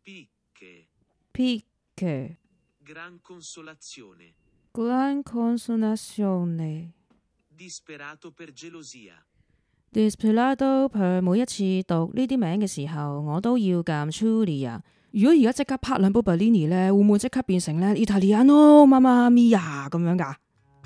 Picche. Gran consolazione. Gran consolazione. Disperato per gelosia. Disperato per 每一次讀呢啲名嘅時候，我都要撳 Julia。如果而家即刻拍兩部 Bellini 咧，會唔會即刻變成咧 Italiano Mamma Mia 咁樣㗎？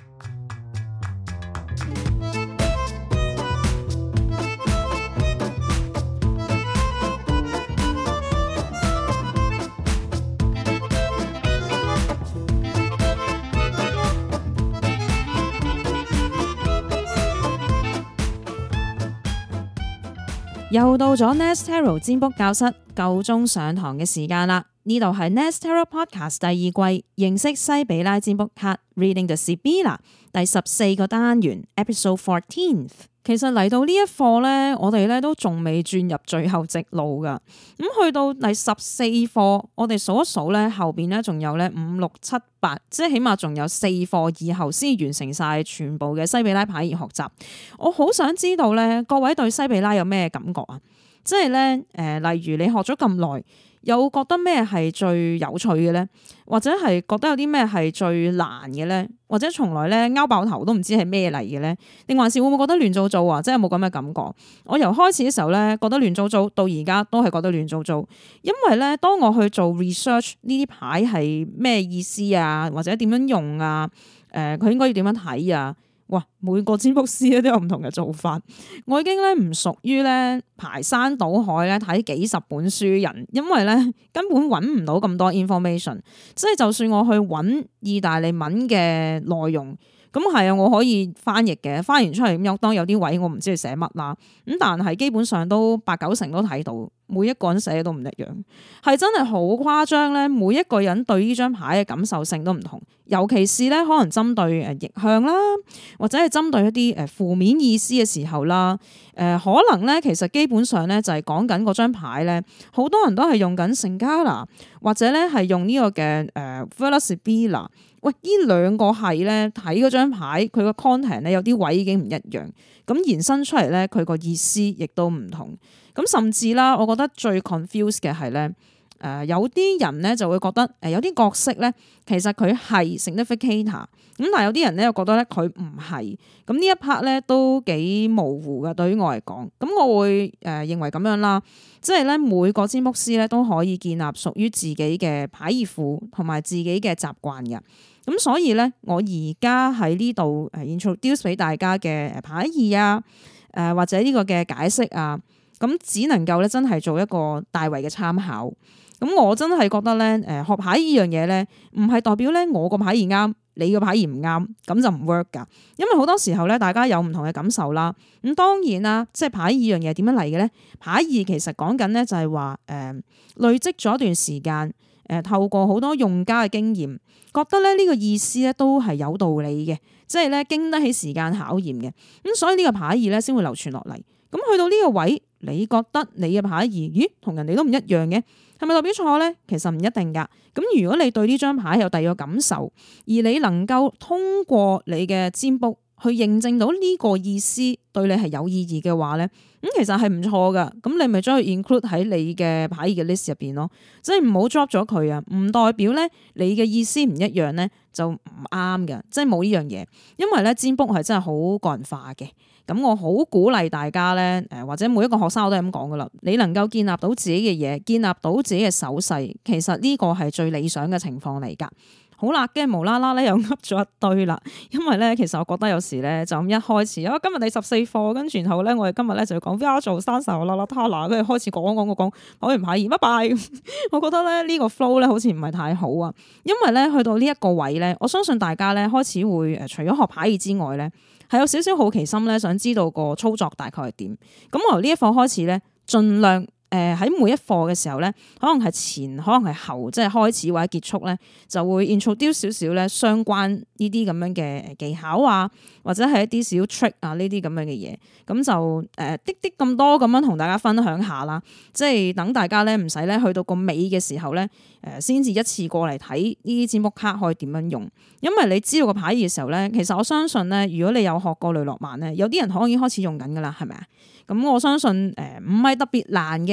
又到咗 Nest Tarot 占卜教室夠鐘上堂嘅時間啦！呢度係 Nest Tarot Podcast 第二季認識西比拉占卜卡 Reading the Sibilla 第14個單元 Episode 14。其實嚟到呢一課咧，我哋咧都仲未轉入最後直路噶。咁去到第14課，我哋數一數咧，後邊咧仲有咧5、6、7、8，即係起碼仲有4課以後先完成晒全部嘅西比拉牌義學習。我好想知道咧，各位對西比拉有咩感覺啊？即係咧，例如你學咗咁耐，有覺得咩係最有趣嘅咧？或者係覺得有啲咩係最難嘅咧？或者從來咧拗爆頭都唔知係咩嚟嘅咧？定還是會唔會覺得亂糟糟啊？即係冇咁嘅感覺。我由開始嘅時候咧覺得亂糟糟，到而家都係覺得亂糟糟。因為咧，當我去做 research 呢啲牌係咩意思啊，或者點樣用啊？佢應該要點樣睇啊？哇！每個占卜師咧都有唔同嘅做法，我已經咧唔屬於咧排山倒海咧睇幾十本書人，因為咧根本揾唔到咁多 information， 即係就算我去揾意大利文嘅內容，咁係啊，我可以翻譯嘅，翻完出嚟咁有當有啲位我唔知佢寫乜啦，咁但係基本上都8、9成都睇到。每一個人寫都唔一樣，係真係好誇張咧！每一個人對呢張牌嘅感受性都唔同，尤其是咧可能針對逆向啦，或者係針對一啲負面意思嘅時候啦，可能咧其實基本上咧就係講緊嗰張牌咧，好多人都係用緊聖加拿，或者咧係用呢個嘅Reading the Sibilla。喂，呢兩個係咧睇嗰張牌，佢個 content 咧有啲位已經唔一樣，咁延伸出嚟咧佢個意思亦都唔同。咁甚至啦，我覺得最 confused 嘅係咧，有啲人咧就會覺得有啲角色咧其實佢係 significator，咁但係有啲人咧又覺得咧佢唔係，咁呢一 part 咧都幾模糊嘅對於我嚟講。咁我會認為咁樣啦，即係咧每個占卜師咧都可以建立屬於自己嘅牌義庫同埋自己嘅習慣嘅。咁所以咧，我而家喺呢度introduce 俾大家嘅牌義啊，或者呢個嘅解釋啊，咁只能夠咧真係做一個大圍嘅參考。咁我真係覺得咧，學牌呢樣嘢咧，唔係代表咧我個牌義啱，你個牌義唔啱，咁就唔 work 噶。因為好多時候咧，大家有唔同嘅感受啦。咁當然啦，即係牌義樣嘢點樣嚟嘅咧？牌義其實講緊咧就係話，累積咗一段時間。透過好多用家嘅經驗，覺得咧呢個意思咧都係有道理嘅，即係咧經得起時間考驗嘅，咁所以呢個牌義咧先會流傳落嚟。咁去到呢個位，你覺得你嘅牌義，咦，同人哋都唔一樣嘅，係咪代表錯咧？其實唔一定噶。咁如果你對呢張牌有第二個感受，而你能夠通過你嘅占卜去認證到呢個意思對你係有意義嘅話咧，咁其實係唔錯噶。咁你咪將佢 include 喺你嘅牌義嘅 list 入邊咯，即係唔好 drop 咗佢啊！唔代表咧你嘅意思唔一樣咧就唔啱嘅，即係冇呢樣嘢。因為咧占卜係真係好個人化嘅。咁我好鼓勵大家咧，或者每一個學生我都係咁講噶啦，你能夠建立到自己嘅嘢，建立到自己嘅手勢，其實呢個係最理想嘅情況嚟噶。好啦，跟住無啦啦咧又噏咗一堆啦，因為咧其實我覺得有時咧就咁一開始，今日第14課，跟住然後咧我哋今日咧就要講 VR 做三十啦啦他啦，跟住開始講完牌義，拜拜。我覺得咧呢個 flow 咧好似唔係太好啊，因為咧去到呢一個位咧，我相信大家咧開始會除咗學牌義之外咧，係有少少好奇心咧，想知道個操作大概係點。咁我由呢一課開始咧，盡量。喺每一課嘅時候咧，可能係前，可能係後，即係開始或者結束咧，就會 introduce 少少咧相關呢啲咁樣嘅技巧啊，或者係一啲小 trick 啊呢啲咁樣嘅嘢，咁就啲咁多咁樣同大家分享下啦，即係等大家咧唔使咧去到個尾嘅時候咧，先至一次過嚟睇呢啲占卜卡可以點樣用，因為你知道個牌義嘅時候咧，其實我相信咧，如果你有學過雷諾曼咧，有啲人可能已經開始用緊噶啦，係咪啊？咁我相信唔係特別難嘅。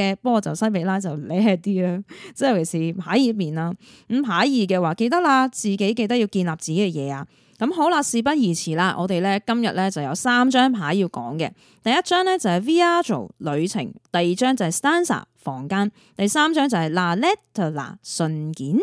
嘅，不過就西比拉就叻啲啦，即係尤其是牌二面啦。咁牌二嘅話，記得啦，自己記得要建立自己嘅嘢啊。咁好啦，事不宜遲啦，我哋咧今日咧就有3張牌要講嘅。第一張咧就係 Viaggio 旅程，第二張就係 Stanza 房間，第三張就係 La Lettera 信件。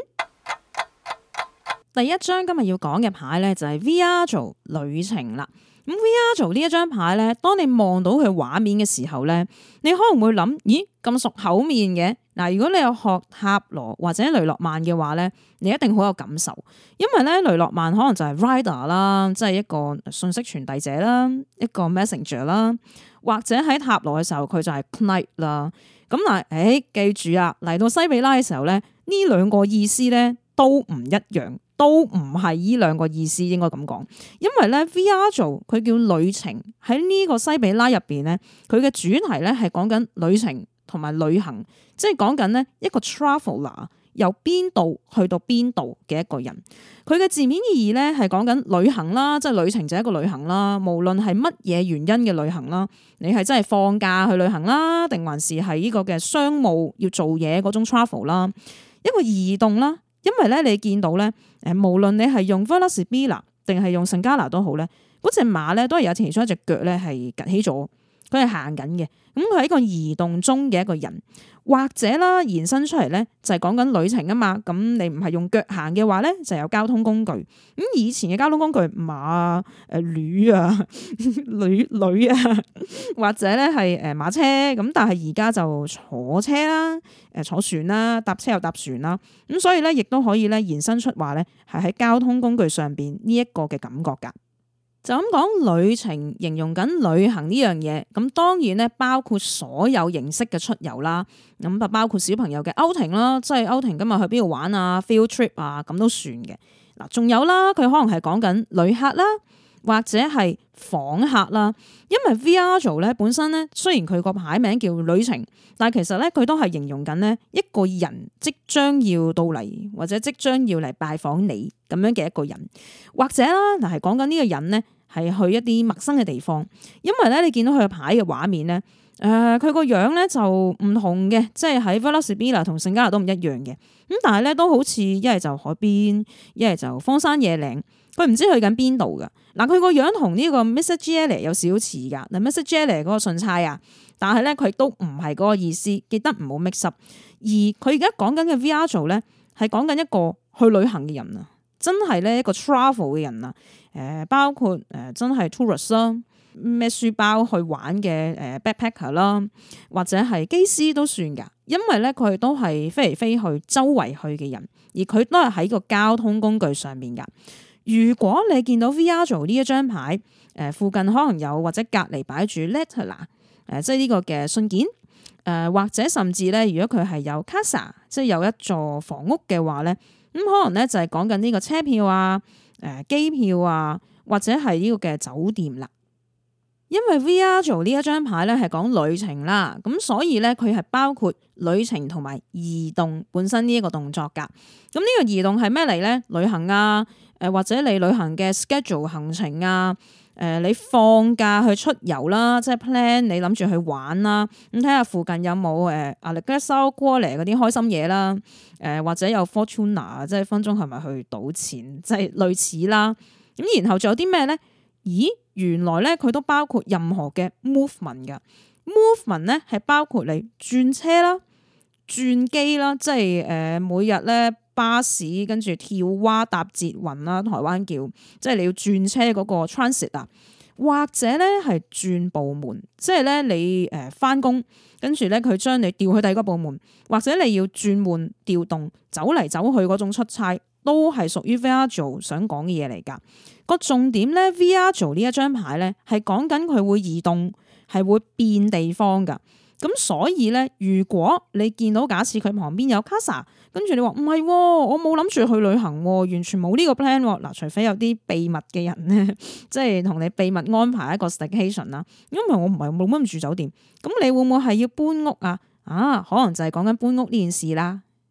第一張今日要講嘅牌咧就係 Viaggio 旅程啦。咁 Viaggio 呢一張牌咧，當你望到佢畫面嘅時候咧，你可能會諗，咦，咁熟口面嘅。嗱，如果你有學塔羅或者雷諾曼嘅話咧，你一定好有感受，因為咧雷諾曼可能就係 rider 啦，即係一個信息傳遞者啦，一個 messenger 啦，或者喺塔羅嘅時候佢就係 knight 啦。咁嗱，記住啊，嚟到西比拉嘅時候咧，呢兩個意思咧都唔一樣，都唔係呢兩個意思，應該咁講。因為咧 Viaggio 佢叫旅程，喺呢個西比拉入邊咧，佢嘅主題咧係講緊旅程同埋旅行，即係講緊呢一個 traveler 由邊度去到邊度嘅一個人。佢嘅字面意義咧係講緊旅行啦，即係旅程就係一個旅行啦。無論係乜嘢原因嘅旅行啦，你係真係放假去旅行啦，定還是係呢個嘅商務要做嘢嗰種 travel 啦，一個移動啦。因為咧你見到咧，無論你係用 Vela Sibilla 定係用聖加拿都好咧，嗰隻馬咧都係有其中一隻腳咧係趌起咗，佢係行緊嘅。咁佢係一個移動中嘅一個人，或者啦延伸出嚟咧就係講緊旅程啊嘛。咁你唔係用腳行嘅話咧，就有交通工具。咁以前嘅交通工具馬啊、驢啊、驢啊，或者咧係馬車。咁但係而家就坐車啦、坐船啦、搭車又搭船啦。咁所以咧亦都可以咧延伸出話咧係喺交通工具上邊呢一個嘅感覺㗎。就咁講旅程，形容緊旅行呢樣嘢，咁當然咧包括所有形式嘅出遊啦，咁啊包括小朋友嘅outing啦，即係outing今日去邊度玩啊 field trip 啊，咁都算嘅。嗱，仲有啦，佢可能係講緊旅客啦，或者係訪客啦。因為 Viaggio 咧本身咧，雖然佢個牌名叫旅程，但係其實咧佢都係形容緊呢一個人即將要到嚟，或者即將要嚟拜訪你咁樣嘅一個人，或者啦嗱係講緊呢個人咧係去一啲陌生嘅地方。因為咧你見到佢嘅牌嘅畫面咧，佢個樣咧就唔同嘅，即係喺 Vela Sibilla 同聖加拿都唔一樣嘅。咁但係咧都好似一係就海邊，一係就荒山野嶺。佢唔知去緊邊度噶，嗱佢個樣同呢個 Mr. Jelly 有少少似噶，嗱 Mr. Jelly 嗰個信差啊，但係咧佢都唔係嗰個意思，記得唔好 mix up。而佢而家講緊嘅 Viaggio 咧，係講緊一個去旅行嘅人啊，真係咧一個 travel 嘅人啊，包括真係 tourist 啦，咩書包去玩嘅backpacker 啦，或者係機師都算噶，因為咧佢都係飛嚟飛去周圍去嘅人，而佢都係喺個交通工具上面噶。如果你見到 Viaggio 呢一張牌，附近可能有或者隔離擺住 lettera，即係呢個嘅信件，或者甚至咧，如果佢係有 casa，即係有一座房屋嘅話咧，咁可能咧就係講緊呢個車票啊、機票啊，或者係呢個嘅酒店啦。因為 Viaggio 呢一張牌咧係講旅程啦，咁所以咧佢係包括旅程同埋移動本身呢一個動作噶。咁呢個移動係咩嚟咧？旅行啊。或者你旅行嘅 schedule 行程啊，你放假去出遊啦，即係 plan 你諗住去玩啦，咁睇下附近有冇Allegretto Quale 嗰啲開心嘢啦，或者有 Fortuna 即係分鐘係咪去賭錢，即係類似啦。咁然後仲有啲咩咧？咦，原來咧佢都包括任何嘅 movement 噶 movement 咧係包括你轉車啦、轉機啦，即係每日咧。巴士跟住跳蛙搭捷運啦，台灣叫即係你要轉車嗰個 transit 啊，或者咧係轉部門，即係咧你翻工跟住咧佢將你調去第二個部門，或者你要轉換調動走嚟走去嗰種出差，都係屬於 Viaggio 想講嘅嘢嚟㗎。個重點咧 Viaggio 呢一張牌咧係講緊佢會移動，係會變地方㗎。咁所以咧，如果你見到假設佢旁邊有 casa， 跟住你話唔係，我冇諗住去旅行，完全冇呢個 plan。嗱，除非有啲秘密嘅人咧，即係同你秘密安排一個 staycation 啦。因為我唔係冇乜住酒店，咁你會唔會係要搬屋啊？可能就係講緊搬屋呢件事啦。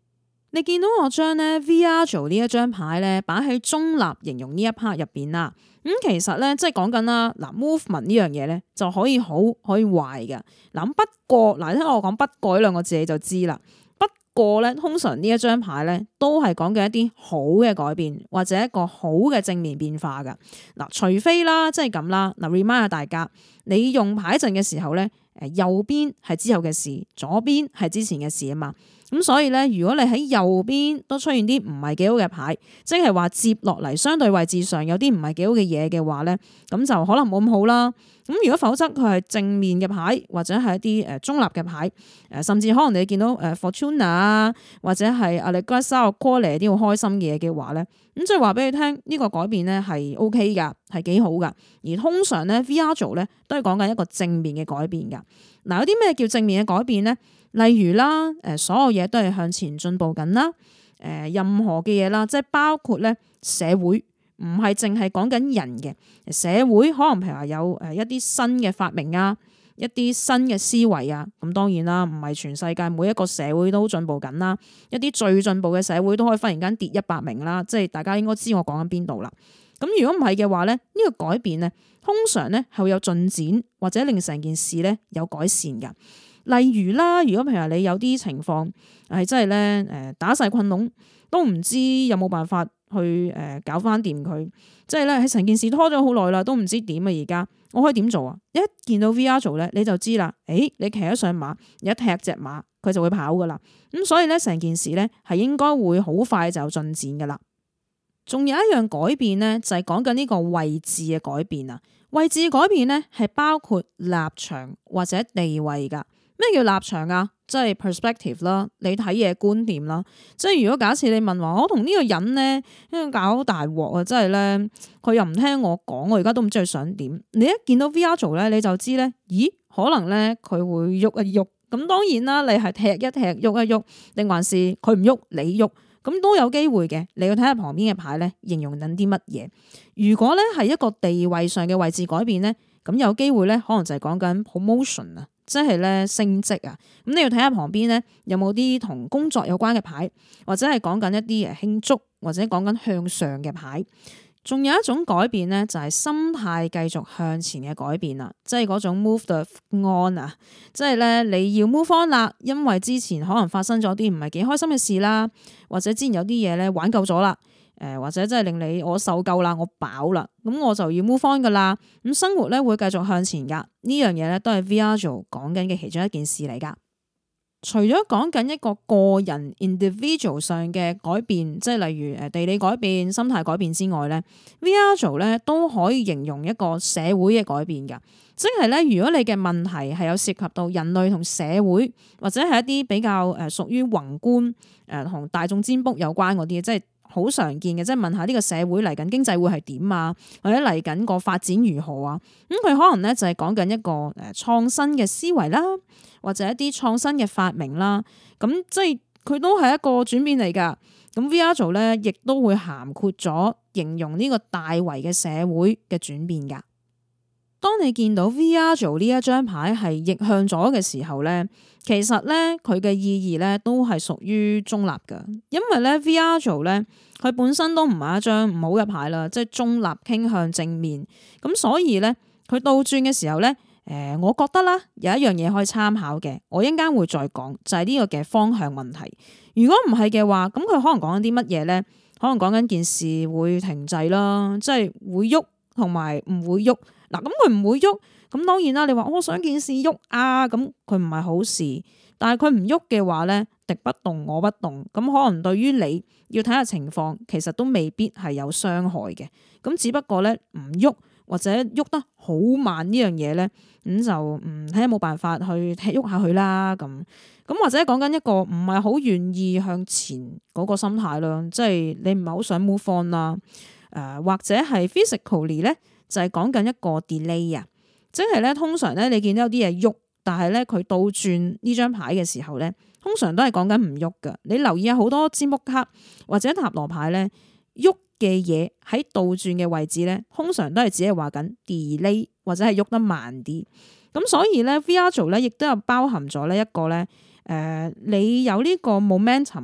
你見到我將咧 Viaggio 呢一張牌咧擺喺中立形容呢一 part 入邊啦。其實咧即係講緊啦，嗱 movement 呢樣嘢咧就可以好可以壞嘅。嗱不過嗱，聽我講不過呢兩個字你就知啦。不過咧通常呢一張牌咧都係講緊一啲好嘅改變或者一個好嘅正面變化噶。嗱除非啦即係咁啦，嗱 remind 下大家，你用牌陣嘅時候咧，右邊係之後嘅事，左邊係之前嘅事啊嘛。咁所以咧，如果你喺右邊都出現啲唔係幾好嘅牌，即係話接落嚟相對位置上有啲唔係幾好嘅嘢嘅話咧，咁就可能冇咁好啦。咁如果否則佢係正面嘅牌，或者係一啲中立嘅牌，甚至可能你見到Fortuna 啊，或者係 Allegra Core 啲好開心嘅嘢嘅話咧，咁即係話俾你聽呢個改變咧係 OK 噶，係幾好噶。而通常咧 Viaggio 咧都係講緊一個正面嘅改變噶。嗱有啲咩叫正面嘅改變咧？例如啦，所有嘢都係向前進步緊啦，任何嘅嘢啦，即係包括咧社會，唔係淨係講緊人嘅社會，可能譬如話有一啲新嘅發明啊，一啲新嘅思維啊，咁當然啦，唔係全世界每一個社會都進步緊啦，一啲最進步嘅社會都可以忽然間跌100名啦，即係大家應該知我講緊邊度啦。咁如果唔係嘅話咧，呢個改變咧，通常咧係會有進展或者令成件事咧有改善㗎。例如啦，如果譬如話你有啲情況係真係咧打晒困籠，都唔知有冇辦法去搞翻掂佢，即係咧喺成件事拖咗好耐啦，都唔知點啊！而家我可以點做啊？一見到 Viaggio 咧，你就知啦。你騎咗上馬，一踢隻馬，佢就會跑噶啦。咁所以咧，成件事咧係應該會好快就有進展噶啦。仲有一樣改變咧，就係講緊呢個位置嘅改變啊。位置嘅改變咧係包括立場或者地位噶。咩叫立場啊？即係 perspective 啦，你睇嘢觀點啦。即係如果假設你問話，我同呢個人咧，因為搞大鑊啊，即係咧，佢又唔聽我講，我而家都唔知佢想點。你一見到 Viaggio 咧，你就知咧，咦，可能咧佢會喐一喐。咁當然啦，你係踢一踢，喐一喐，定還是佢唔喐，你喐，咁都有機會嘅。你要睇下旁邊嘅牌咧，形容緊啲乜嘢。如果咧係一個地位上嘅位置改變咧，咁有機會咧，可能就係講緊 promotion 啊。即係咧升職啊，咁你要睇下旁邊咧有冇啲同工作有關嘅牌，或者係講緊一啲慶祝，或者講緊向上嘅牌。仲有一種改變咧，就係心態繼續向前嘅改變啦，即係嗰種 move the on 啊，即係咧你要 move on 啦，因為之前可能發生咗啲唔係幾開心嘅事啦，或者之前有啲嘢咧玩夠咗啦。或者真係令你我受夠啦，我飽啦，咁我就要 move on 噶啦。咁生活咧會繼續向前噶，呢樣嘢咧都係 Viaggio 講緊嘅其中一件事嚟噶。除咗講緊一個個人 individual 上嘅改變，即係例如地理改變、心態改變之外咧，Viaggio 咧都可以形容一個社會嘅改變噶。即係咧，如果你嘅問題係有涉及到人類同社會，或者係一啲比較屬於宏觀同大眾占卜有關嗰啲，即係。好常見嘅，即係問下呢個社會嚟緊經濟會係點啊，或者嚟緊個發展如何啊？咁佢可能咧就係講緊一個創新嘅思維啦，或者一啲創新嘅發明啦。咁即係佢都係一個轉變嚟㗎。咁 Viaggio 咧亦都會涵括咗形容呢個大圍嘅社會嘅轉變㗎。當你見到 Viaggio 呢一張牌係逆向咗嘅時候咧，其實咧佢嘅意義咧都係屬於中立㗎，因為咧 Viaggio 咧佢本身都唔係一張唔好嘅牌啦，即係中立傾向正面，咁所以咧佢倒轉嘅時候咧，我覺得啦有一樣嘢可以參考嘅，我一陣間會再講，就係呢個嘅方向問題。如果唔係嘅話，咁佢可能講緊啲乜嘢咧？可能講緊件事會停滯啦，即係會喐同埋唔會喐。嗱，咁佢唔會喐，咁當然啦。你話我想件事喐啊，咁佢唔係好事。但係佢唔喐嘅話咧，敵不動我不動，咁可能對於你要睇下情況，其實都未必係有傷害嘅。咁只不過咧唔喐或者喐得好慢呢樣嘢咧，咁就睇下冇辦法去踢喐下佢啦。咁或者講緊一個唔係好願意向前嗰個心態啦，即係你唔係好想 move on 啦。或者係 physically 咧。就係講緊一個 delay 啊，即係咧通常咧你見到有啲嘢喐，但係咧佢倒轉呢張牌嘅時候咧，通常都係講緊唔喐噶。你留意下好多占卜卡或者塔羅牌咧，喐嘅嘢喺倒轉嘅位置咧，通常都係只係話緊 delay 或者係喐得慢啲。咁所以咧 Viaggio 咧亦都有包含咗呢一個咧，你有呢個 momentum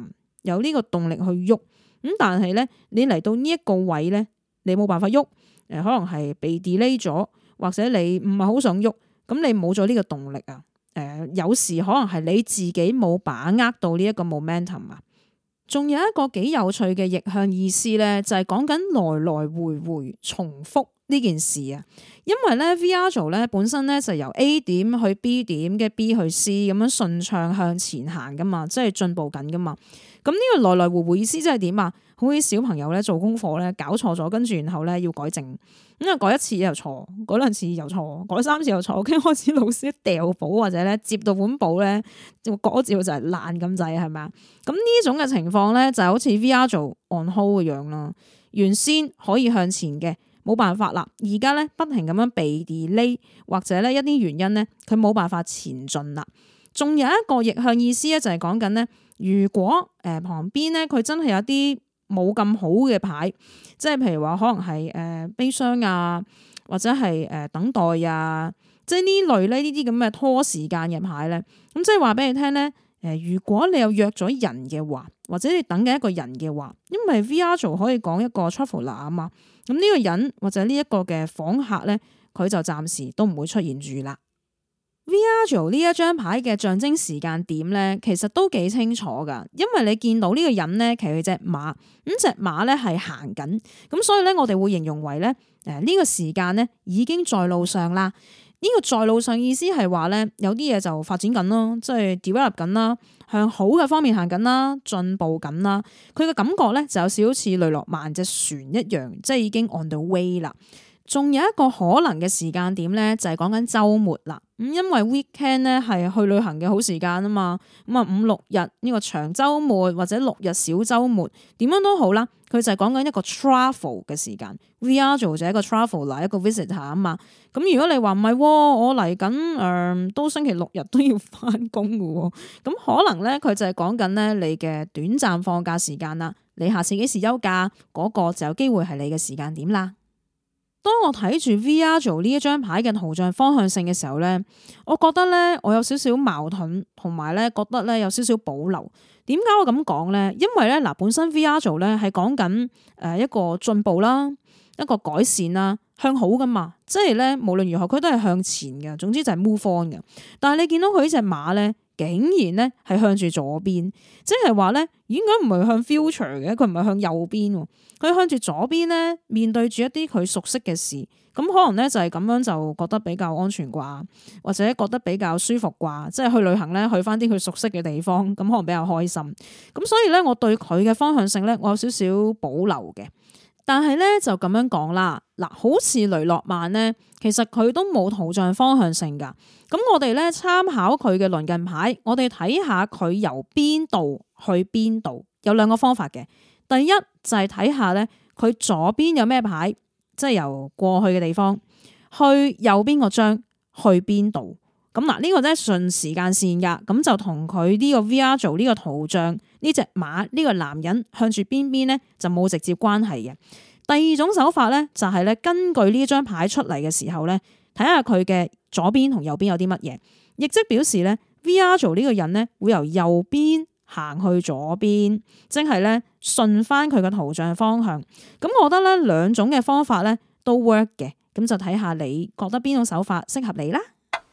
有呢個動力去喐。咁但係咧，你嚟到呢一個位咧，你冇辦法喐，可能係被 delay 咗，或者你唔係好想喐，咁你冇咗呢個動力啊。有時可能係你自己冇把握到呢一個 momentum 啊。仲有一個幾有趣嘅逆向意思咧，就係講緊來來回回重複呢件事啊。因為咧 Viaggio 咧本身咧就由 A 點去 B 點嘅 B 去 C 咁樣順暢向前行噶嘛，即係進步緊噶嘛。咁呢個來來回回意思即係點啊？好似小朋友咧做功課咧搞錯咗，跟住然後咧要改正，咁啊改一次又錯，改兩次又錯，改三次又錯，跟住開始老師掉簿或者咧接到本簿咧，嗰照就係爛咁滯，係咪啊？咁呢種嘅情況咧就好似 Viaggio on hold 嘅樣啦，原先可以向前嘅，冇辦法啦，而家咧不停咁樣被 delay 或者咧一啲原因咧佢冇辦法前進啦。仲有一個逆向意思咧就係講緊咧，如果旁邊咧佢真係有啲冇咁好嘅牌，即係譬如話可能係悲傷啊，或者係等待啊，即係呢類咧呢啲咁嘅拖時間嘅牌咧，咁即係話俾你聽咧，如果你有約咗人嘅話，或者你等緊一個人嘅話，因為 Viaggio 可以講一個 traveler 啊嘛，咁呢個人或者呢一個嘅訪客咧，佢就暫時都唔會出現住啦。Viaggio 呢一張牌嘅象徵時間點咧，其實都幾清楚噶，因為你見到呢個人咧騎佢隻馬，咁隻馬咧係行緊，咁所以咧我哋會形容為咧呢個時間咧已經在路上啦。呢個在路上意思係話咧有啲嘢就發展緊咯，即係 develop 緊啦，向好嘅方面行緊啦，進步緊啦。佢嘅感覺咧就有少少似雷諾曼隻船一樣，即係已經 on the way 啦。仲有一個可能嘅時間點咧，就係講緊週末啦。咁因為 weekend 咧係去旅行嘅好時間啊嘛，咁啊5、6日呢個長週末或者6日小週末，點樣都好啦，佢就係講緊一個 travel 嘅時間。Viaggio 就係一個 traveler，一個 visitor 啊嘛。咁如果你話唔係，我嚟緊都星期6日都要翻工嘅喎，咁可能咧佢就係講緊咧你嘅短暫放假時間啦。你下次幾時休假嗰個就有機會係你嘅時間點啦。當我睇住 Viaggio 呢一張牌嘅圖像方向性嘅時候咧，我覺得咧我有少少矛盾，同埋咧覺得咧有少少保留。點解我咁講咧？因為咧嗱，本身 Viaggio 咧係講緊一個進步啦，一個改善啦，向好噶嘛。即係咧無論如何佢都係向前嘅，總之就係 move on 嘅。但係你見到佢呢隻馬咧，竟然咧係向住左邊，即係話咧應該唔係向 future 嘅，佢唔係向右邊，佢向住左邊咧，面對住一啲佢熟悉嘅事，咁可能咧就係咁樣就覺得比較安全啩，或者覺得比較舒服啩，即係去旅行咧去翻啲佢熟悉嘅地方，咁可能比較開心。咁所以咧我對佢嘅方向性咧，我有少少保留嘅。但係咧就咁樣講啦，嗱，好似雷諾曼咧，其實佢都冇圖像方向性噶。咁我哋咧參考佢嘅鄰近牌，我哋睇下佢由邊度去邊度，有兩個方法嘅。第一就係睇下咧，佢左邊有咩牌，即係由過去嘅地方去右邊個張去邊度。咁嗱，呢個咧順時間線噶，咁就同佢呢個 Viaggio 呢個圖像呢隻馬呢個男人向住邊邊咧就冇直接關係嘅。第二種手法咧就係咧根據呢張牌出嚟嘅時候咧，睇下佢嘅左邊同右邊有啲乜嘢，亦即表示咧 Viaggio 呢個人咧會由右邊行去左邊，即係咧順翻佢嘅圖像方向。咁我覺得咧兩種嘅方法咧都 work 嘅，咁就睇下你覺得邊種手法適合你啦。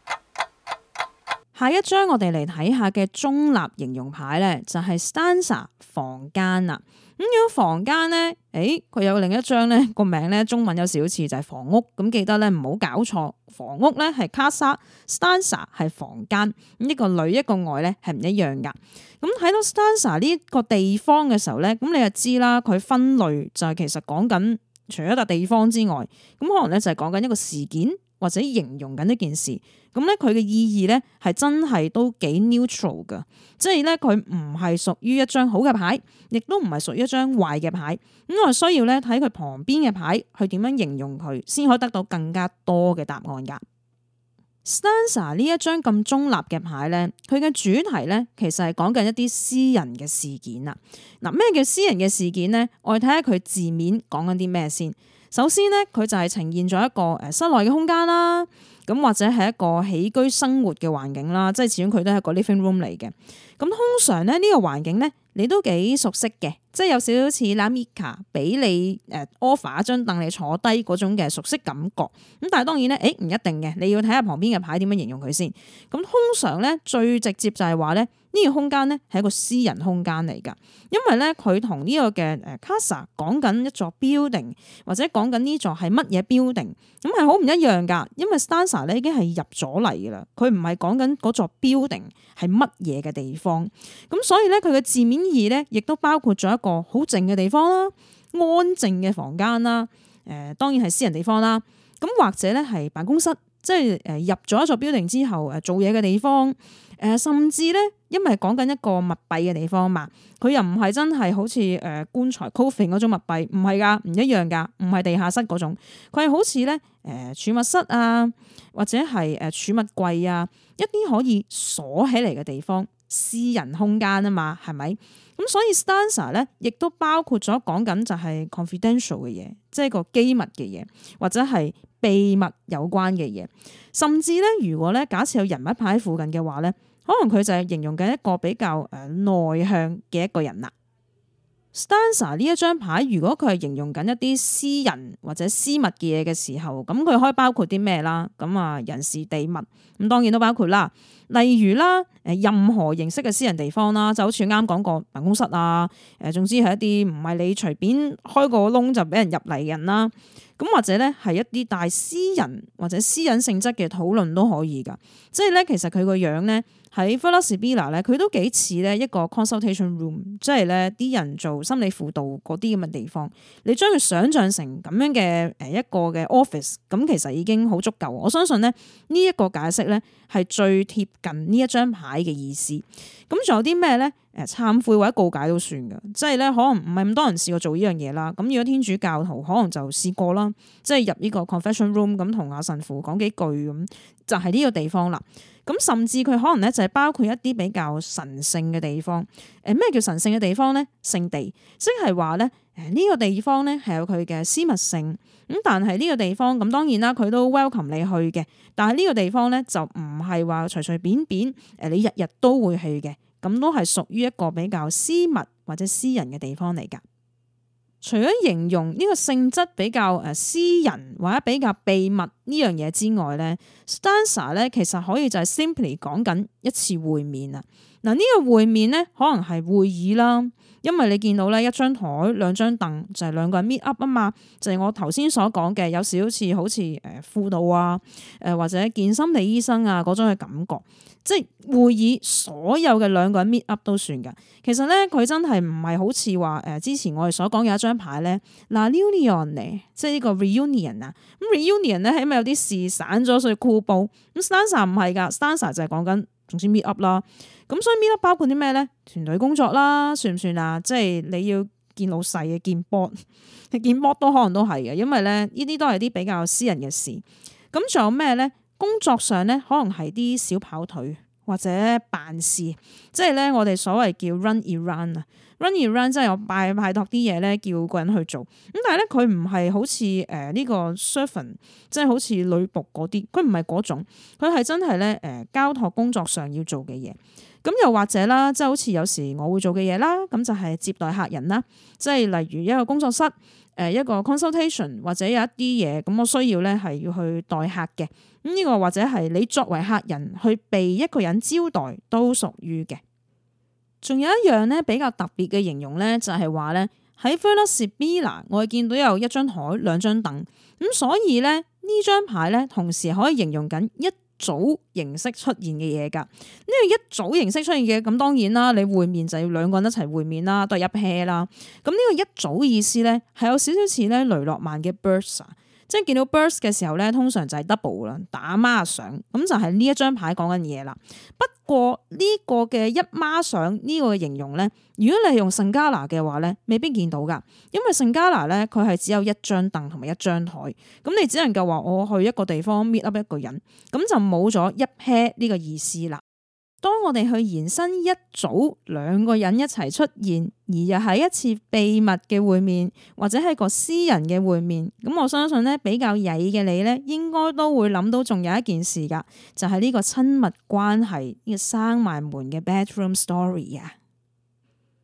下一張我哋嚟睇下嘅中立形容牌咧，就係 stanza 房間啦。咁如果房間咧，佢有另一張咧個名咧中文有少少似就係房屋，咁記得咧唔好搞錯，房屋咧係 casa，stanza 係房間，咁一個裏一個外咧係唔一樣噶。咁睇到 stanza 呢個地方嘅時候咧，咁你就知啦，佢分類就係其實講緊除咗笪地方之外，咁可能咧就係講緊一個事件或者形容緊一件事。咁咧佢嘅意義咧係真係都幾 neutral 噶，即係咧佢唔係屬於一張好嘅牌，亦都唔係屬於一張壞嘅牌。咁我需要咧睇佢旁邊嘅牌去點樣形容佢，先可以得到更加多嘅答案噶。stanza 呢一張咁中立嘅牌咧，佢嘅主題咧其實係講緊一啲私人嘅事件啦。嗱，咩叫私人嘅事件咧？我哋睇下佢字面講緊啲咩先。首先咧，佢就係呈現咗一個室內嘅空間啦。咁或者係一個起居生活嘅環境啦，即係始終佢都係一個 living room 嚟嘅。咁通常咧呢個環境咧， 你都幾熟悉嘅，即係有少少似 Lamika 俾你offer 一張凳你坐低嗰種嘅熟悉感覺。咁但係當然咧，唔一定嘅，你要睇下旁邊嘅牌點樣形容佢先。咁通常咧最直接就係話咧呢個空間咧係一個私人空間嚟㗎，因為咧佢同呢個嘅casa 講緊一座 building 或者講緊呢座係乜嘢 building， 咁係好唔一樣㗎。因為 stanza 咧已經係入咗嚟㗎啦，佢唔係講緊嗰座 building 係乜嘢嘅地方。咁所以咧佢嘅字面意咧亦都包括咗一個好靜嘅地方啦，安靜嘅房間啦，當然係私人地方啦。咁或者咧係辦公室，即係入咗一座 building 之後做嘢嘅地方。甚至咧，因為講緊一個密閉嘅地方嘛，佢又唔係真係好似棺材 coffin 嗰種密閉，唔係㗎，唔一樣㗎，唔係地下室嗰種，佢係好似咧儲物室啊，或者係儲物櫃啊，一啲可以鎖起嚟嘅地方，私人空間啊嘛，係咪？咁所以 stanza 咧，亦都包括咗講緊就係 confidential 嘅嘢，即係個機密嘅嘢，或者係秘密有關嘅嘢。甚至咧，如果咧假設有人物牌喺附近嘅話咧，可能佢就係形容緊一個比較內向嘅一個人啦。stanza 呢一張牌，如果佢係形容緊一啲私人或者私密嘅嘢嘅時候，咁佢可以包括啲咩啦？咁啊，人事地物，咁當然都包括啦。例如啦，任何形式嘅私人地方啦，就好似啱講過辦公室啊，總之係一啲唔係你隨便開個窿就俾人入嚟嘅人啦。咁或者咧係一啲帶私人或者私隱性質嘅討論都可以㗎。即係咧，其實佢個樣咧喺 Villa Sibilla 咧，佢都幾似咧一個 consultation room，即係咧啲人做心理輔導嗰啲咁嘅地方。你將佢想像成咁樣嘅一個嘅 office，咁其實已經好足夠。我相信咧呢一個解釋咧係最貼近呢一張牌嘅意思。咁仲有啲咩咧？懺悔或者告解都算㗎，即係咧可能唔係咁多人試過做呢樣嘢啦。咁如果天主教徒可能就試過啦，即係入呢個 confession room 咁同阿神父講幾句咁，就係呢個地方啦。咁甚至佢可能咧就係包括一啲比較神聖嘅地方。咩叫神聖嘅地方咧？聖地，即係話咧呢個地方咧係有佢嘅私密性。咁但係呢個地方咁當然啦，佢都 welcome 你去嘅。但係呢個地方咧就唔係話隨隨便便你日日都會去嘅。咁都係屬於一個比較私密或者私人嘅地方嚟㗎。除咗形容呢個性質比較私人或者比較秘密呢樣嘢之外咧 stanza 咧其實可以就係 simply 講緊一次會面啊。嗱，呢個會面咧可能係會議啦，因為你見到咧一張台兩張凳就係兩個人 meet up 啊嘛，就係我頭先所講嘅有少少好似輔導啊或者見心理醫生啊嗰種嘅感覺。即係會議所有嘅兩個人 meet up 都算㗎。其實咧佢真係唔係好似話之前我哋所講有一張牌咧嗱 reunion 嚟，即係呢個 reunion 啊。咁 reunion 咧起碼有啲事散咗，所以箍煲。咁 stanza 唔係㗎 stanza 就係講緊總之 meet up 啦。咁所以 meet up 包括啲咩咧？團隊工作啦，算唔算啊？即係你要見老細嘅，見 board， 見 board 都可能都係嘅，因為咧呢啲都係啲比較私人嘅事。咁仲有咩咧？工作上咧，可能係啲小跑腿或者辦事，即係咧我哋所謂叫 run errand 啊 ，run errand 即係我派託啲嘢咧，叫個人去做。咁但係咧佢唔係好似呢個 servant， 即係好似女僕嗰啲，佢唔係嗰種，佢係真係咧交託工作上要做嘅嘢。咁又或者啦，即係好似有時我會做嘅嘢啦，咁就係接待客人啦，即係例如一個工作室。一個 consultation 或者有一啲嘢咁，我需要咧係要去待客嘅。咁呢個或者係你作為客人去被一個人招待都屬於嘅。仲有一樣咧比較特別嘅形容咧，就係話咧喺 Villa Sibilla 我哋見到有一張台兩張凳，咁所以咧呢張牌咧同時可以形容緊一組形式出現嘅嘢㗎。呢個一組形式出現嘅，咁當然啦，你會面就要兩個人一齊會面啦，都係一 pair 啦。咁呢個一組意思咧係有少少似咧雷諾曼嘅 burst， 即係見到 burst 嘅時候咧，通常就係 double 啦，打孖上，咁就係呢一張牌講緊嘢啦。不過呢個嘅一孖上呢個嘅形容咧，如果你係用聖加拿嘅話咧，未必見到㗎，因為聖加拿咧佢係只有一張凳同埋一張台，咁你只能夠話我去一個地方 meet up 一個人，咁就冇咗一 pair 呢個意思啦。當我哋去延伸一組兩個人一齊出現，而又係一次秘密嘅會面，或者係個私人嘅會面，咁我相信咧比較曳嘅你咧，應該都會諗到仲有一件事㗎，就係呢個親密關係呢個生埋門嘅 bedroom story 啊。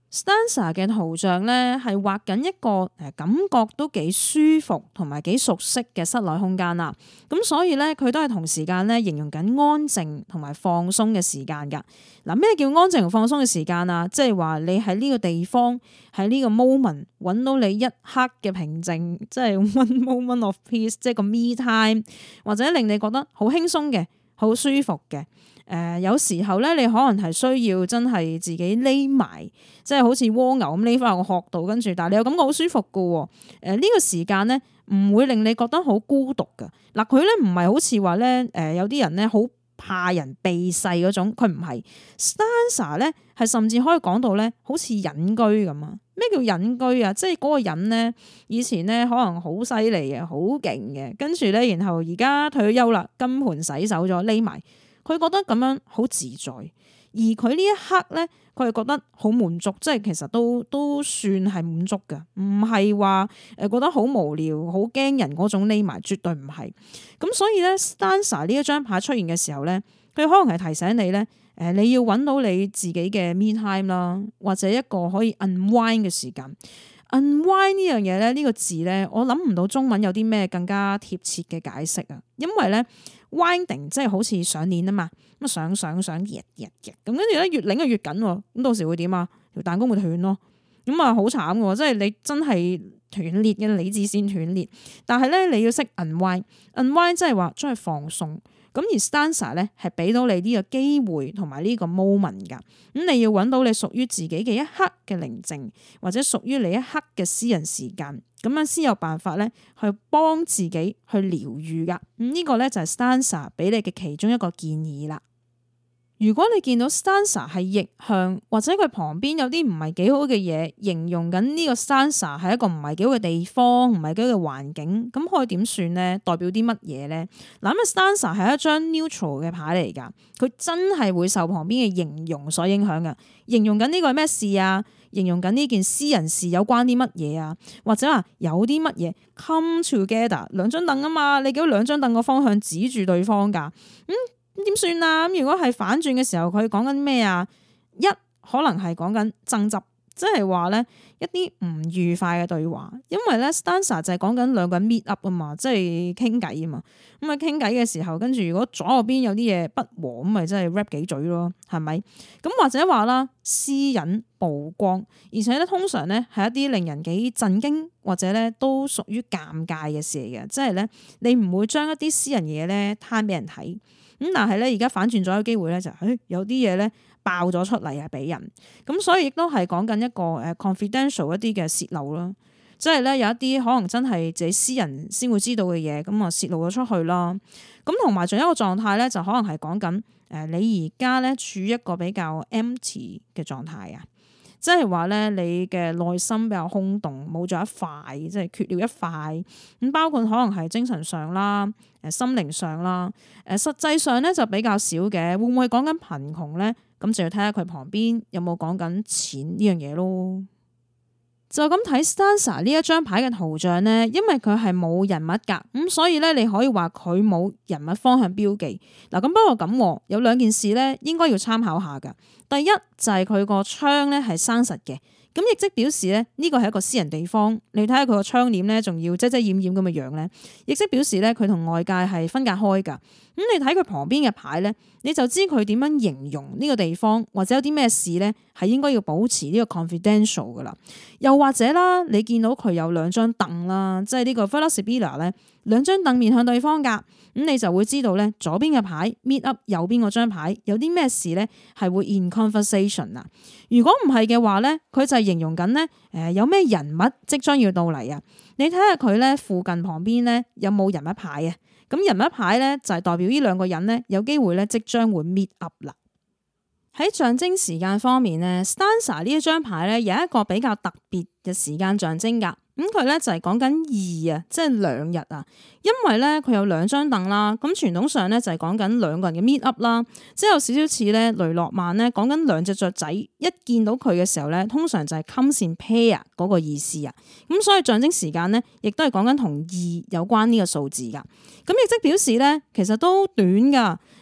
Stanza 嘅圖像咧係畫緊一個感覺都幾舒服同埋幾熟悉嘅室內空間啦。咁所以咧佢都係同時間咧形容緊安靜同埋放鬆嘅時間㗎。嗱，咩叫安靜同放鬆嘅時間啊？即係話你喺呢個地方喺呢個 moment 揾到你一刻嘅平靜，即係 one moment of peace， 即係個 me time， 或者令你覺得好輕鬆嘅、好舒服嘅。有時候咧，你可能係需要真係自己匿埋，即係好似蝸牛咁匿翻個殼度，跟住，但係你又感覺好舒服噶。呢個時間咧，唔會令你覺得好孤獨噶。嗱，佢咧唔係好似話咧，有啲人咧好怕人避世嗰種，佢唔係。Stanza 咧係甚至可以講到咧，好似隱居咁啊。咩叫隱居啊？即係嗰個人咧，以前咧可能好犀利嘅，好勁嘅，跟住咧，然後而家退咗休啦，金盆洗手咗，匿埋。佢覺得咁樣好自在，而佢呢一刻咧，佢係覺得好滿足，即係其實都算係滿足㗎，唔係話覺得好無聊、好驚人嗰種匿埋，絕對唔係。咁所以咧，Stanza 呢一張牌出現嘅時候咧，佢可能係提醒你咧，你要揾到你自己嘅 me time 啦，或者一個可以 unwind 嘅時間。unwind 呢樣嘢咧，呢個字咧，我諗唔到中文有啲咩更加貼切嘅解釋啊，因為咧。winding 即係好似上鏈啊嘛，咁啊上咁跟住咧越擰就越緊，咁到時會點啊？條彈弓會斷咯，咁啊好慘嘅，即係你真係斷裂嘅理智線斷裂，但係咧你要識 unwind 即係話將佢放鬆。咁而 Stanza 咧係俾到你呢個機會同埋呢個 moment 噶，咁你要揾到你屬於自己嘅一刻嘅寧靜，或者屬於你一刻嘅私人時間，咁樣先有辦法咧去幫自己去療癒噶。呢個咧就係 Stanza 俾你嘅其中一個建議啦。如果你見到 Stanza 係逆向，或者佢旁邊有啲唔係幾好嘅嘢，形容緊呢個 Stanza 係一個唔係幾好嘅地方，唔係幾好嘅環境，咁可以點算呢？代表啲乜嘢呢？嗱，咁 Stanza 係一張 neutral 嘅牌嚟噶，佢真係會受旁邊嘅形容所影響噶。形容緊呢個係咩事啊？形容緊呢件私人事有關啲乜嘢啊？或者話有啲乜嘢 come together 兩張凳啊嘛？你見到兩張凳個方向指住對方噶，咁點算啊？咁如果係反轉嘅時候，佢講緊咩啊？一可能係講緊爭執，即係話咧一啲唔愉快嘅對話，因為咧 Stanza 就係講緊兩個人 meet up 啊嘛，即係傾偈啊嘛。咁啊傾偈嘅時候，跟住如果左右邊有啲嘢不和，咁咪真係 rap 幾嘴咯，係咪？咁或者話啦，私隱曝光，而且咧通常咧係一啲令人幾震驚或者咧都屬於尷尬嘅事嚟嘅，即係咧你唔會將一啲私人嘢咧攤俾人睇。咁但係咧，而家反轉咗嘅機會咧就係，有啲嘢咧爆咗出嚟啊，俾人咁，所以亦都係講緊一個confidential 一啲嘅泄露啦，即係咧有一啲可能真係自己私人先會知道嘅嘢，咁啊泄露咗出去啦。咁同埋仲有一個狀態咧，就可能係講緊你而家咧處於一個比較 empty 嘅狀態啊。即係話咧，你嘅內心比較空洞，冇咗一塊，即係缺了一塊。咁包括可能係精神上啦，心靈上啦，實際上咧就比較少嘅。會唔會講緊貧窮咧？咁就要睇下佢旁邊有冇講緊錢呢樣嘢咯。就咁睇 Stanza 呢一張牌嘅圖像咧，因為佢係冇人物噶，咁所以咧你可以話佢冇人物方向標記。嗱，咁不過咁有兩件事咧，應該要參考下噶。第一就係佢個窗咧係生實嘅，咁亦即表示咧呢個係一個私人地方。你睇下佢個窗簾咧，仲要遮遮掩掩咁嘅樣咧，亦即表示咧佢同外界係分隔開噶。咁你睇佢旁邊嘅牌咧，你就知佢點樣形容呢個地方，或者有啲咩事咧係應該要保持呢個 confidential 噶啦。又或者啦，你見到佢有兩張凳啦，即係呢個 Velasibila 咧，兩張凳面向對方噶，咁你就會知道咧左邊嘅牌 meet up 右邊嗰張牌有啲咩事咧係會 in conversation 啊。如果唔係嘅話咧，佢就係形容緊咧有咩人物即將要到嚟啊。你睇下佢咧附近旁邊咧有冇人物牌啊？咁人物牌咧就係代表呢兩個人咧有機會咧即將會 meet up 啦。喺象徵時間方面咧 Stanza 呢一張牌咧有一個比較特別嘅時間象徵噶。咁佢咧就係講緊二啊，即係兩日啊，因為咧佢有兩張凳啦。咁傳統上咧就係講緊兩個人嘅 meet up 啦，即係有少少似咧雷諾曼咧講緊兩隻雀仔一見到佢嘅時候咧，通常就係 comes in pair 嗰個意思啊。咁所以象徵時間咧，亦都係講緊同二有關呢個數字噶。咁亦即表示咧，其實都短噶。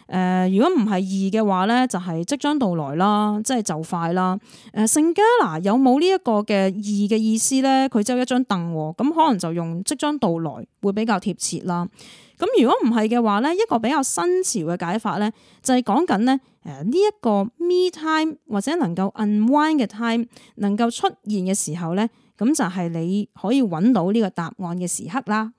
如果唔係易嘅話咧，就係即將到來啦，即係就快啦。聖加拿有冇呢一個嘅易嘅意思咧？佢只有一張凳，咁可能就用即將到來會比較貼切啦。咁如果唔係嘅話咧，一個比較新潮嘅解法咧，就係講緊咧呢一個 me time 或者能夠 unwind 嘅 time 能夠出現嘅時候咧，咁就係你可以揾到呢個答案嘅時刻啦。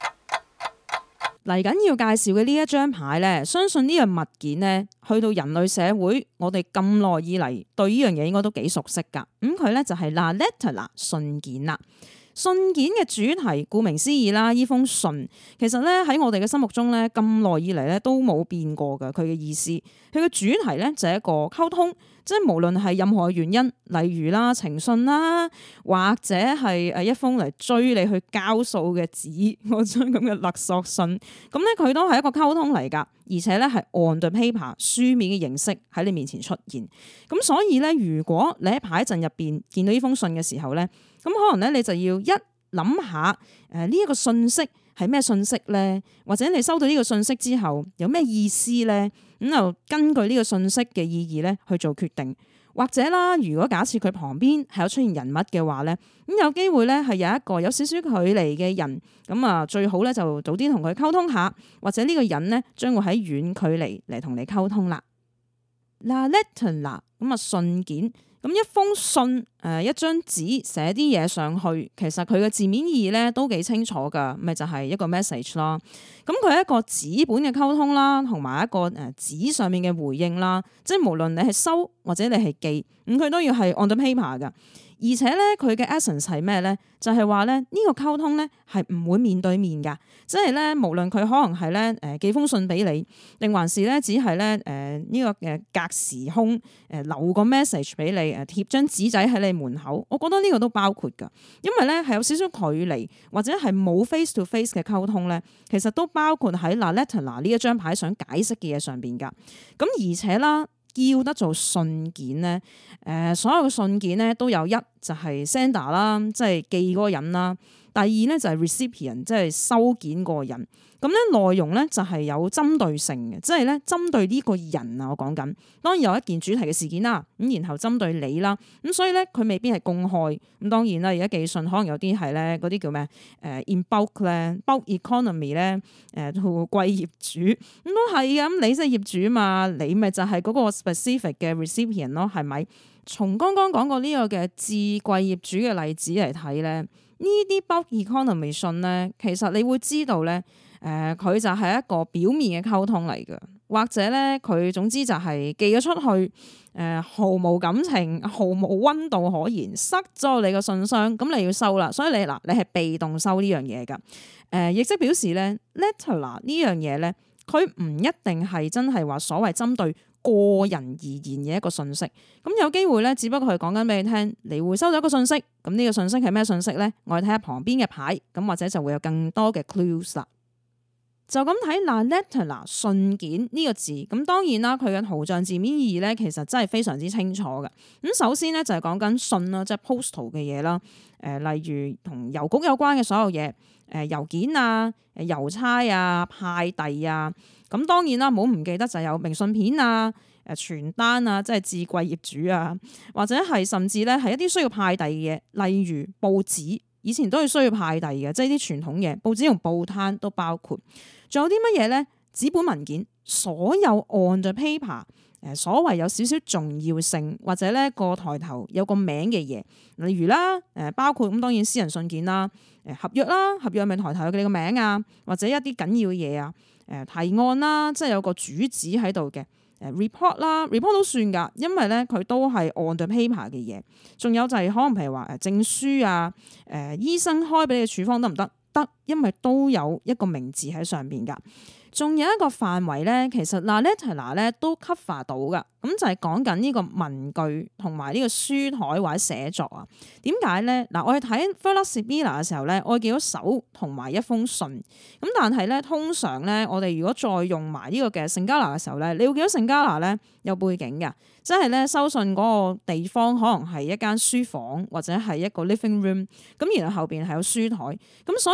嚟緊要介紹嘅呢一張牌咧，相信呢樣物件咧，去到人類社會，我哋咁耐以嚟對呢樣嘢應該都幾熟悉㗎。咁佢咧就係 La Lettera 信件啦。信件嘅主題，顧名思義啦，呢封信其實咧喺我哋嘅心目中咧，咁耐以嚟咧都冇變過㗎。佢嘅意思，佢嘅主題咧就係一個溝通，即係無論係任何嘅原因，例如啦情信啦，或者係一封嚟追你去交數嘅紙，嗰張咁嘅勒索信，咁咧佢都係一個溝通嚟㗎，而且咧係 on the paper 書面嘅形式喺你面前出現。咁所以咧，如果你喺牌陣入邊見到呢封信嘅時候咧，咁可能咧你就要一諗下呢一個信息係咩信息咧，或者你收到呢個信息之後有咩意思咧，咁就根據呢個信息嘅意義咧去做決定。或者啦，如果假設佢旁邊係有出現人物嘅話咧，咁有機會咧係有一個有少少距離嘅人，咁啊最好咧就早啲同佢溝通下，或者呢個人咧將會喺遠距離嚟同你溝通啦。La lettera 咁啊信件。咁一封信，一張紙寫啲嘢上去，其實佢嘅字面意義咧都幾清楚噶，咪就係一個 message 啦。咁佢係一個紙本嘅溝通啦，同埋一個紙上面嘅回應啦。即係無論你係收或者你係寄，咁佢都要係 on the paper 噶。而且咧，佢嘅 essence 係咩咧？就係話咧，呢個溝通咧係唔會面對面噶，即係咧，無論佢可能係咧寄封信俾你，定還是咧只係咧呢個隔時空留個 message 俾你貼張紙仔喺你門口，我覺得呢個都包括噶，因為咧係有少少距離或者係冇 face to face 嘅溝通咧，其實都包括喺 La Lettera 呢一張牌想解釋嘅嘢上邊噶。咁而且啦，叫得做信件咧，所有嘅信件咧都有一就係 sender 啦，即係寄嗰個人啦。第二咧就係 recipient，即係收件嗰個人。咁咧內容咧就係有針對性嘅，即係咧針對呢個人啊，我講緊。當然有一件主題嘅事件啦，咁然後針對你啦，咁所以咧佢未必係公開。咁當然啦，而家寄信可能有啲係咧嗰啲叫咩in bulk 咧 bulk economy 咧貴業主咁都係嘅。咁你即係業主嘛，你咪就係嗰個 specific 嘅 recipient 咯，係咪？從剛剛講過呢個嘅至貴業主嘅例子嚟睇咧，呢啲 bulk economy 信咧，其實你會知道咧。佢就係一個表面嘅溝通嚟嘅，或者咧佢總之就係寄咗出去，毫無感情、毫無溫度可言，塞咗你個信箱，咁你要收啦。所以你係被動收呢樣嘢㗎。亦即表示咧 lettera 呢樣嘢咧，佢唔一定係真係話所謂針對個人而言嘅一個信息。咁有機會咧，只不過係講緊俾你聽，你會收到一個信息。咁呢個信息係咩信息咧？我哋睇下旁邊嘅牌，咁或者就會有更多嘅 clues 啦。就咁睇 La Lettera 信件呢個字，咁當然啦，佢嘅圖像字面意義咧，其實真係非常之清楚嘅。咁首先咧就係講緊信啦，即係 postal 嘅嘢啦，例如同郵局有關嘅所有嘢，郵件啊、郵差啊、派遞啊，咁當然啦，唔好唔記得就有明信片啊、傳單啊，即係至貴業主啊，或者係甚至咧係一啲需要派遞嘅嘢，例如報紙。以前都係需要派遞嘅，即係啲傳統嘢，報紙同報攤都包括。仲有啲乜嘢咧？紙本文件，所有 on the paper，所謂有少少重要性或者咧個抬頭有個名嘅嘢，例如啦，包括咁當然私人信件啦，合約啦，合約咪抬頭有你個名啊，或者一啲緊要嘅嘢啊，提案啦，即係有個主旨喺度嘅。report 啦 ，report 都算㗎，因為咧佢都係 on the paper 嘅嘢。仲有就係可能譬如話證書啊，醫生開俾你嘅處方得唔得？得，因為都有一個名字喺上邊㗎。仲有一個範圍咧，其實 La Lettera 咧都 cover 到㗎。咁就係講緊呢個文具同埋呢個書台或者寫作啊。點解咧？嗱，我哋睇 Furla Sibila 嘅時候咧，我見到手同埋一封信。咁但係咧，通常咧，我哋如果再用埋呢個嘅聖加拿嘅時候咧，你會見到聖加拿咧有背景嘅，即係咧收信嗰個地方可能係一間書房或者係一個 living room。咁然後後邊係有書台。咁所以咧，La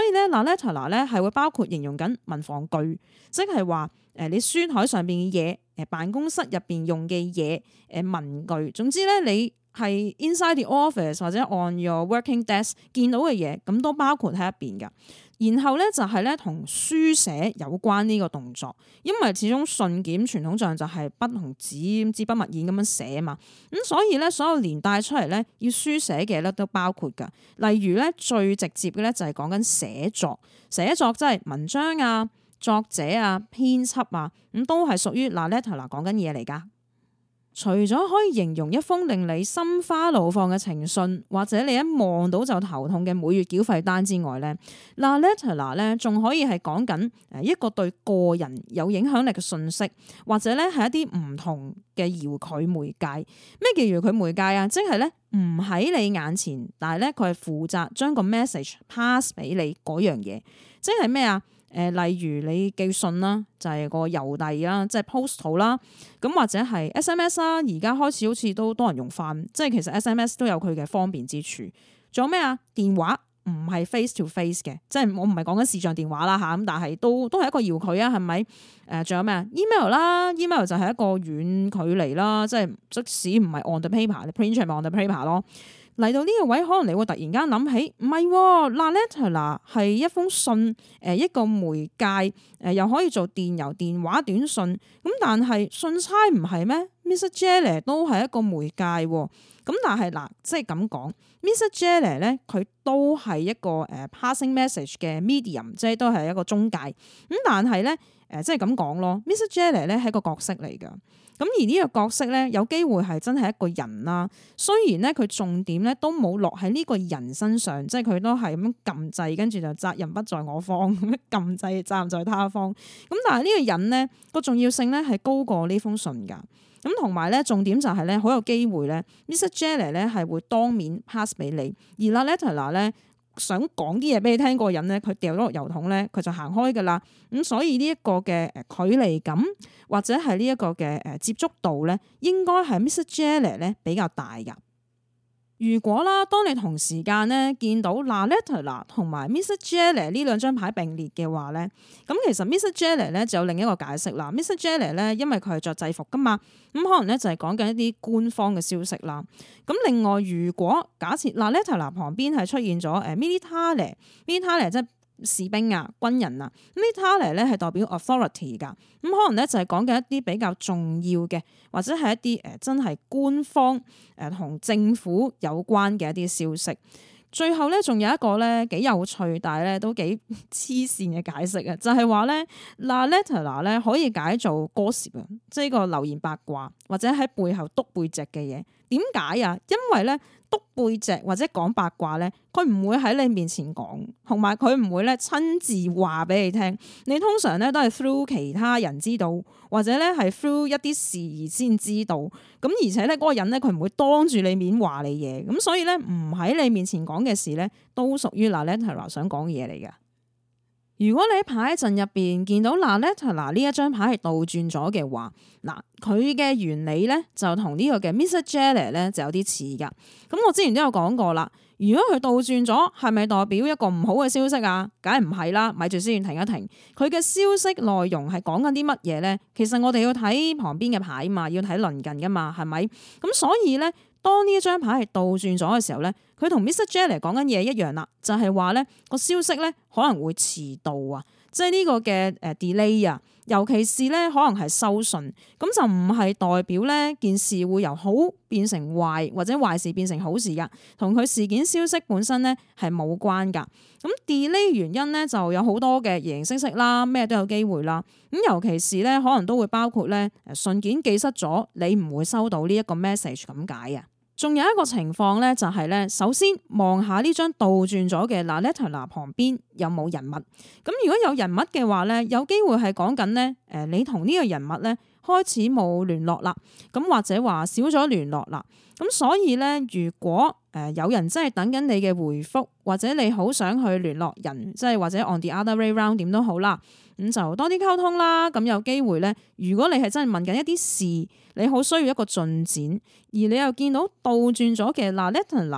la lettera 咧係會包括形容緊文房具，即係話你書台上邊嘅嘢，辦公室入邊用嘅嘢，文具，總之咧你係 inside the office 或者 on your working desk 見到嘅嘢，咁都包括喺一邊噶。然後咧就係咧同書寫有關呢個動作，因為始終信件傳統上就係筆同紙支筆墨硯咁樣寫嘛，咁所以咧所有連帶出嚟咧要書寫嘅咧都包括噶。例如咧最直接嘅咧就係講緊寫作即係文章啊、作者啊、編輯啊，咁都係屬於 la lettera 講緊嘢嚟噶。除咗可以形容一封令你心花怒放嘅情信，或者你一望到就頭痛嘅每月繳費單之外咧，la lettera 咧仲可以係講緊一個對個人有影響力嘅信息，或者咧係一啲唔同嘅遙距媒介。咩叫遙距媒介啊？即係咧唔喺你眼前，但係咧佢係負責將個 message pass 俾你嗰樣嘢，即係咩啊？例如你寄信啦，就係個郵遞啦，即係 postal 啦，咁或者係 SMS 啦，而家開始好似都多人用翻，即係其實 SMS 都有佢嘅方便之處。仲有咩啊？電話唔係 face to face 嘅，即係我唔係講緊視像電話啦嚇，咁但係都係一個遙距啊，係咪？仲有咩啊 ？email 啦 ，email 就係一個遠距離啦，即係即使唔係 on the paper，你 print 出嚟 on the paper 咯。嚟到呢個位，可能你會突然間諗起，唔係，la lettera 係一封信，一個媒介，又可以做電郵、電話、短信，咁但係信差唔係咩 ？Mr. Jelly 都係一個媒介，咁但係嗱，即係咁講 ，Mr. Jelly 咧，佢都係一個passing message 嘅 medium，即係都係一個中介，咁但係咧，即係咁講咯 ，Mr. Jelly 咧係一個角色嚟噶。咁而呢個角色咧，有機會係真係一個人啦。雖然咧佢重點咧都冇落喺呢個人身上，即係佢都係咁撳掣，跟住就責任不在我方，咁撳掣責任在他方。咁但係呢個人咧個重要性咧係高過呢封信噶。咁同埋咧重點就係咧好有機會咧 Mr. Jelly 咧係會當面 pass 俾你，而 la lettera 咧想講啲嘢俾你聽，個人咧佢掉咗落郵筒咧佢就行開噶啦。咁所以呢一個嘅距離感或者係呢一個嘅接觸度咧，應該係 Mr. Jelly 咧比較大噶。如果啦，當你同時間咧見到 la lettera 同埋 Mr. Jelly 呢兩張牌並列嘅話咧，咁其實 Mr. Jelly 咧就有另一個解釋啦。Mr. Jelly 咧因為佢係着制服噶嘛，咁可能咧就係講緊一啲官方嘅消息啦。咁另外，如果假設 la lettera 旁邊係出現咗militare 即係士兵啊、軍人啊，militare 咧係代表 authority 噶，咁可能咧就係講緊一啲比較重要嘅，或者係一啲真係官方同政府有關嘅一啲消息。最後咧仲有一個咧幾有趣，但係咧都幾黐線嘅解釋啊，就係話咧 la lettera 咧可以解做 gossip 啊，即係個流言八卦或者喺背後督背脊嘅嘢。點解啊？因為咧督背脊或者講八卦咧，佢唔會喺你面前講，同埋佢唔會咧親自話俾你聽。你通常咧都係 through 其他人知道，或者咧係 through 一啲事而先知道。咁而且咧嗰個人咧佢唔會當住你面話你嘢，咁所以咧唔喺你面前講嘅事咧都屬於 la lettera 想講嘅嘢嚟㗎。如果你喺牌陣入邊見到 la lettera 呢一張牌係倒轉咗嘅話，嗱佢嘅原理咧就同呢個嘅 Mr. Jelly 咧就有啲似噶。咁我之前都有講過啦，如果佢倒轉咗，係咪代表一個唔好嘅消息啊？梗係唔係啦，咪住先，停一停。佢嘅消息內容係講緊啲乜嘢咧？其實我哋要睇旁邊嘅牌嘛，要睇鄰近噶嘛，係咪？咁所以咧，當呢一張牌係倒轉咗嘅時候咧，佢同 Mr. Jelly 講緊嘢一樣啦，就係話咧個消息咧可能會遲到啊，即係呢個嘅delay 啊，尤其是咧可能係收信，咁就唔係代表咧件事會由好變成壞，或者壞事變成好事噶，同佢事件消息本身咧係冇關噶。咁 delay 原因咧就有好多嘅形形色色啦，咩都有機會啦。咁尤其是咧可能都會包括咧信件寄失咗，你唔會收到呢一個 message 咁解啊。仲有一個情況咧，就係咧，首先望下呢張倒轉咗嘅 la lettera 旁邊有冇人物。咁如果有人物嘅話咧，有機會係講緊咧，你同呢個人物咧開始冇聯絡啦，咁或者話少咗聯絡啦。咁所以咧，如果有人真係等緊你嘅回覆，或者你好想去聯絡人，即係或者 on the other way round 點都好啦，咁就多啲溝通啦。咁有機會咧，如果你係真係問緊一啲事，你好需要一個進展，而你又見到倒轉咗嘅 la lettera，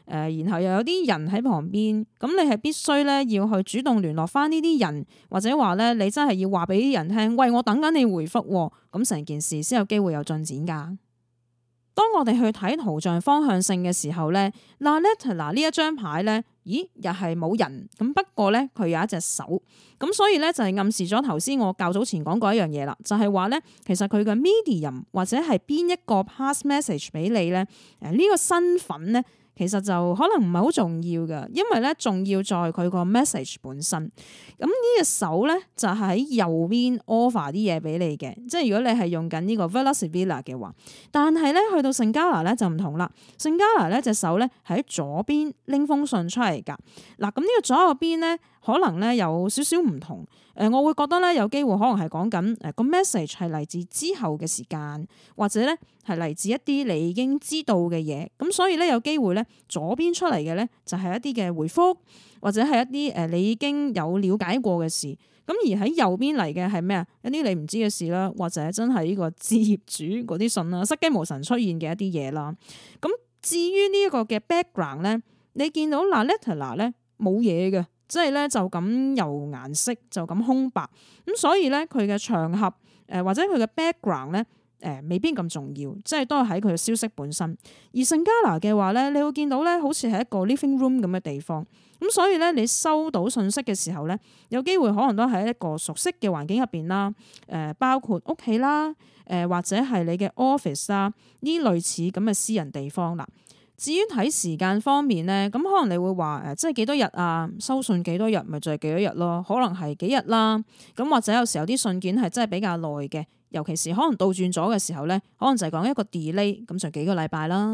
然後又有啲人喺旁邊，咁你係必須咧要去主動聯絡翻呢啲人，或者話咧你真係要話俾啲人聽，喂，我等緊你回覆喎，咁成件事先有機會有進展㗎。當我哋去睇圖像方向性嘅時候咧，嗱 Letter 呢一張牌咧，咦又係冇人，咁不過咧佢有一隻手，咁所以咧就係暗示咗頭先我較早前講過一樣嘢啦，就係話咧其實佢嘅 medium 或者係邊一個 pass message 俾你咧，呢個身份咧。其實就可能唔係好重要嘅，因為咧重要在佢個 message 本身。咁呢隻手咧就喺右邊 offer 啲嘢俾你嘅，即係如果你係用緊呢個 Velar Sibilla 嘅話，但係咧去到聖加拿咧就唔同啦。聖加拿咧隻手咧喺左邊拎封信出嚟㗎。嗱，咁呢個左右邊咧可能咧有少少唔同。我會覺得咧有機會可能係講緊個 message 係嚟自之後嘅時間，或者咧係嚟自一啲你已經知道嘅嘢，咁所以咧有機會咧左邊出嚟嘅咧就係一啲嘅回覆，或者係一啲你已經有了解過嘅事，咁而喺右邊嚟嘅係咩啊？一啲你唔知嘅事啦，或者真係呢個置業主嗰啲信啦，失驚無神出現嘅一啲嘢啦。咁至於呢一個嘅 background 咧，你見到嗱 letter 咧冇嘢嘅。即係咧就咁由顏色就咁空白，咁所以咧佢嘅場合或者佢嘅 background 咧未必咁重要，即係都係喺佢嘅消息本身。而聖加拿嘅話咧，你會見到咧好似係一個 living room 咁嘅地方，咁所以咧你收到信息嘅時候咧，有機會可能都喺一個熟悉嘅環境入邊啦，包括屋企啦，或者係你嘅 office 啦，呢類似咁嘅私人地方啦。至於睇時間方面咧，咁可能你會話即係幾多日啊？收信幾多日，咪就係幾多日咯？可能係幾日啦。咁或者有時候啲信件係真係比較耐嘅，尤其是可能倒轉咗嘅時候咧，可能就係講一個 delay，咁就幾個禮拜啦。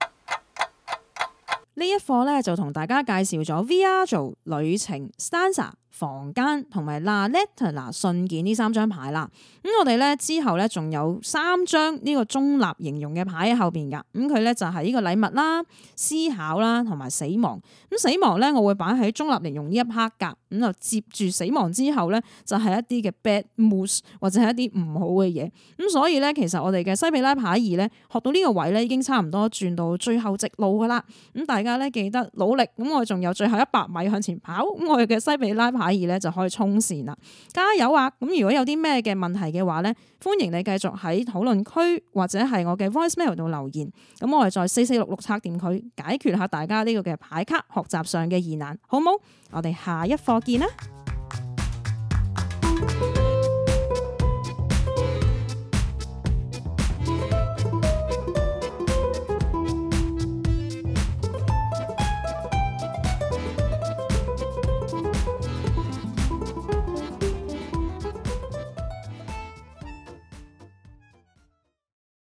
呢一課咧就同大家介紹咗 Viaggio 旅程、Stanza 房間同埋 La Lettera 信件呢三張牌啦。咁我哋咧之後咧仲有三張呢個中立形容嘅牌喺後邊噶。咁佢咧就係呢個禮物啦、思考啦同埋死亡。咁死亡咧我會擺喺中立形容呢一 part 噶。咁就接住死亡之後咧就係一啲嘅 bad moves 或者係一啲唔好嘅嘢。咁所以咧其實我哋嘅西比拉牌二咧學到呢個位咧已經差唔多轉到最後直路噶啦。咁大家咧記得努力。咁我仲有最後100米向前跑。咁我哋嘅西比拉牌二咧就可以衝線啦，加油啊！咁如果有啲咩嘅問題嘅話咧，歡迎你繼續喺討論區或者係我嘅 voicemail 度留言，咁我哋再4466拆掂佢，解決下大家呢個嘅牌卡學習上嘅疑難，好冇？我哋下一課見啦！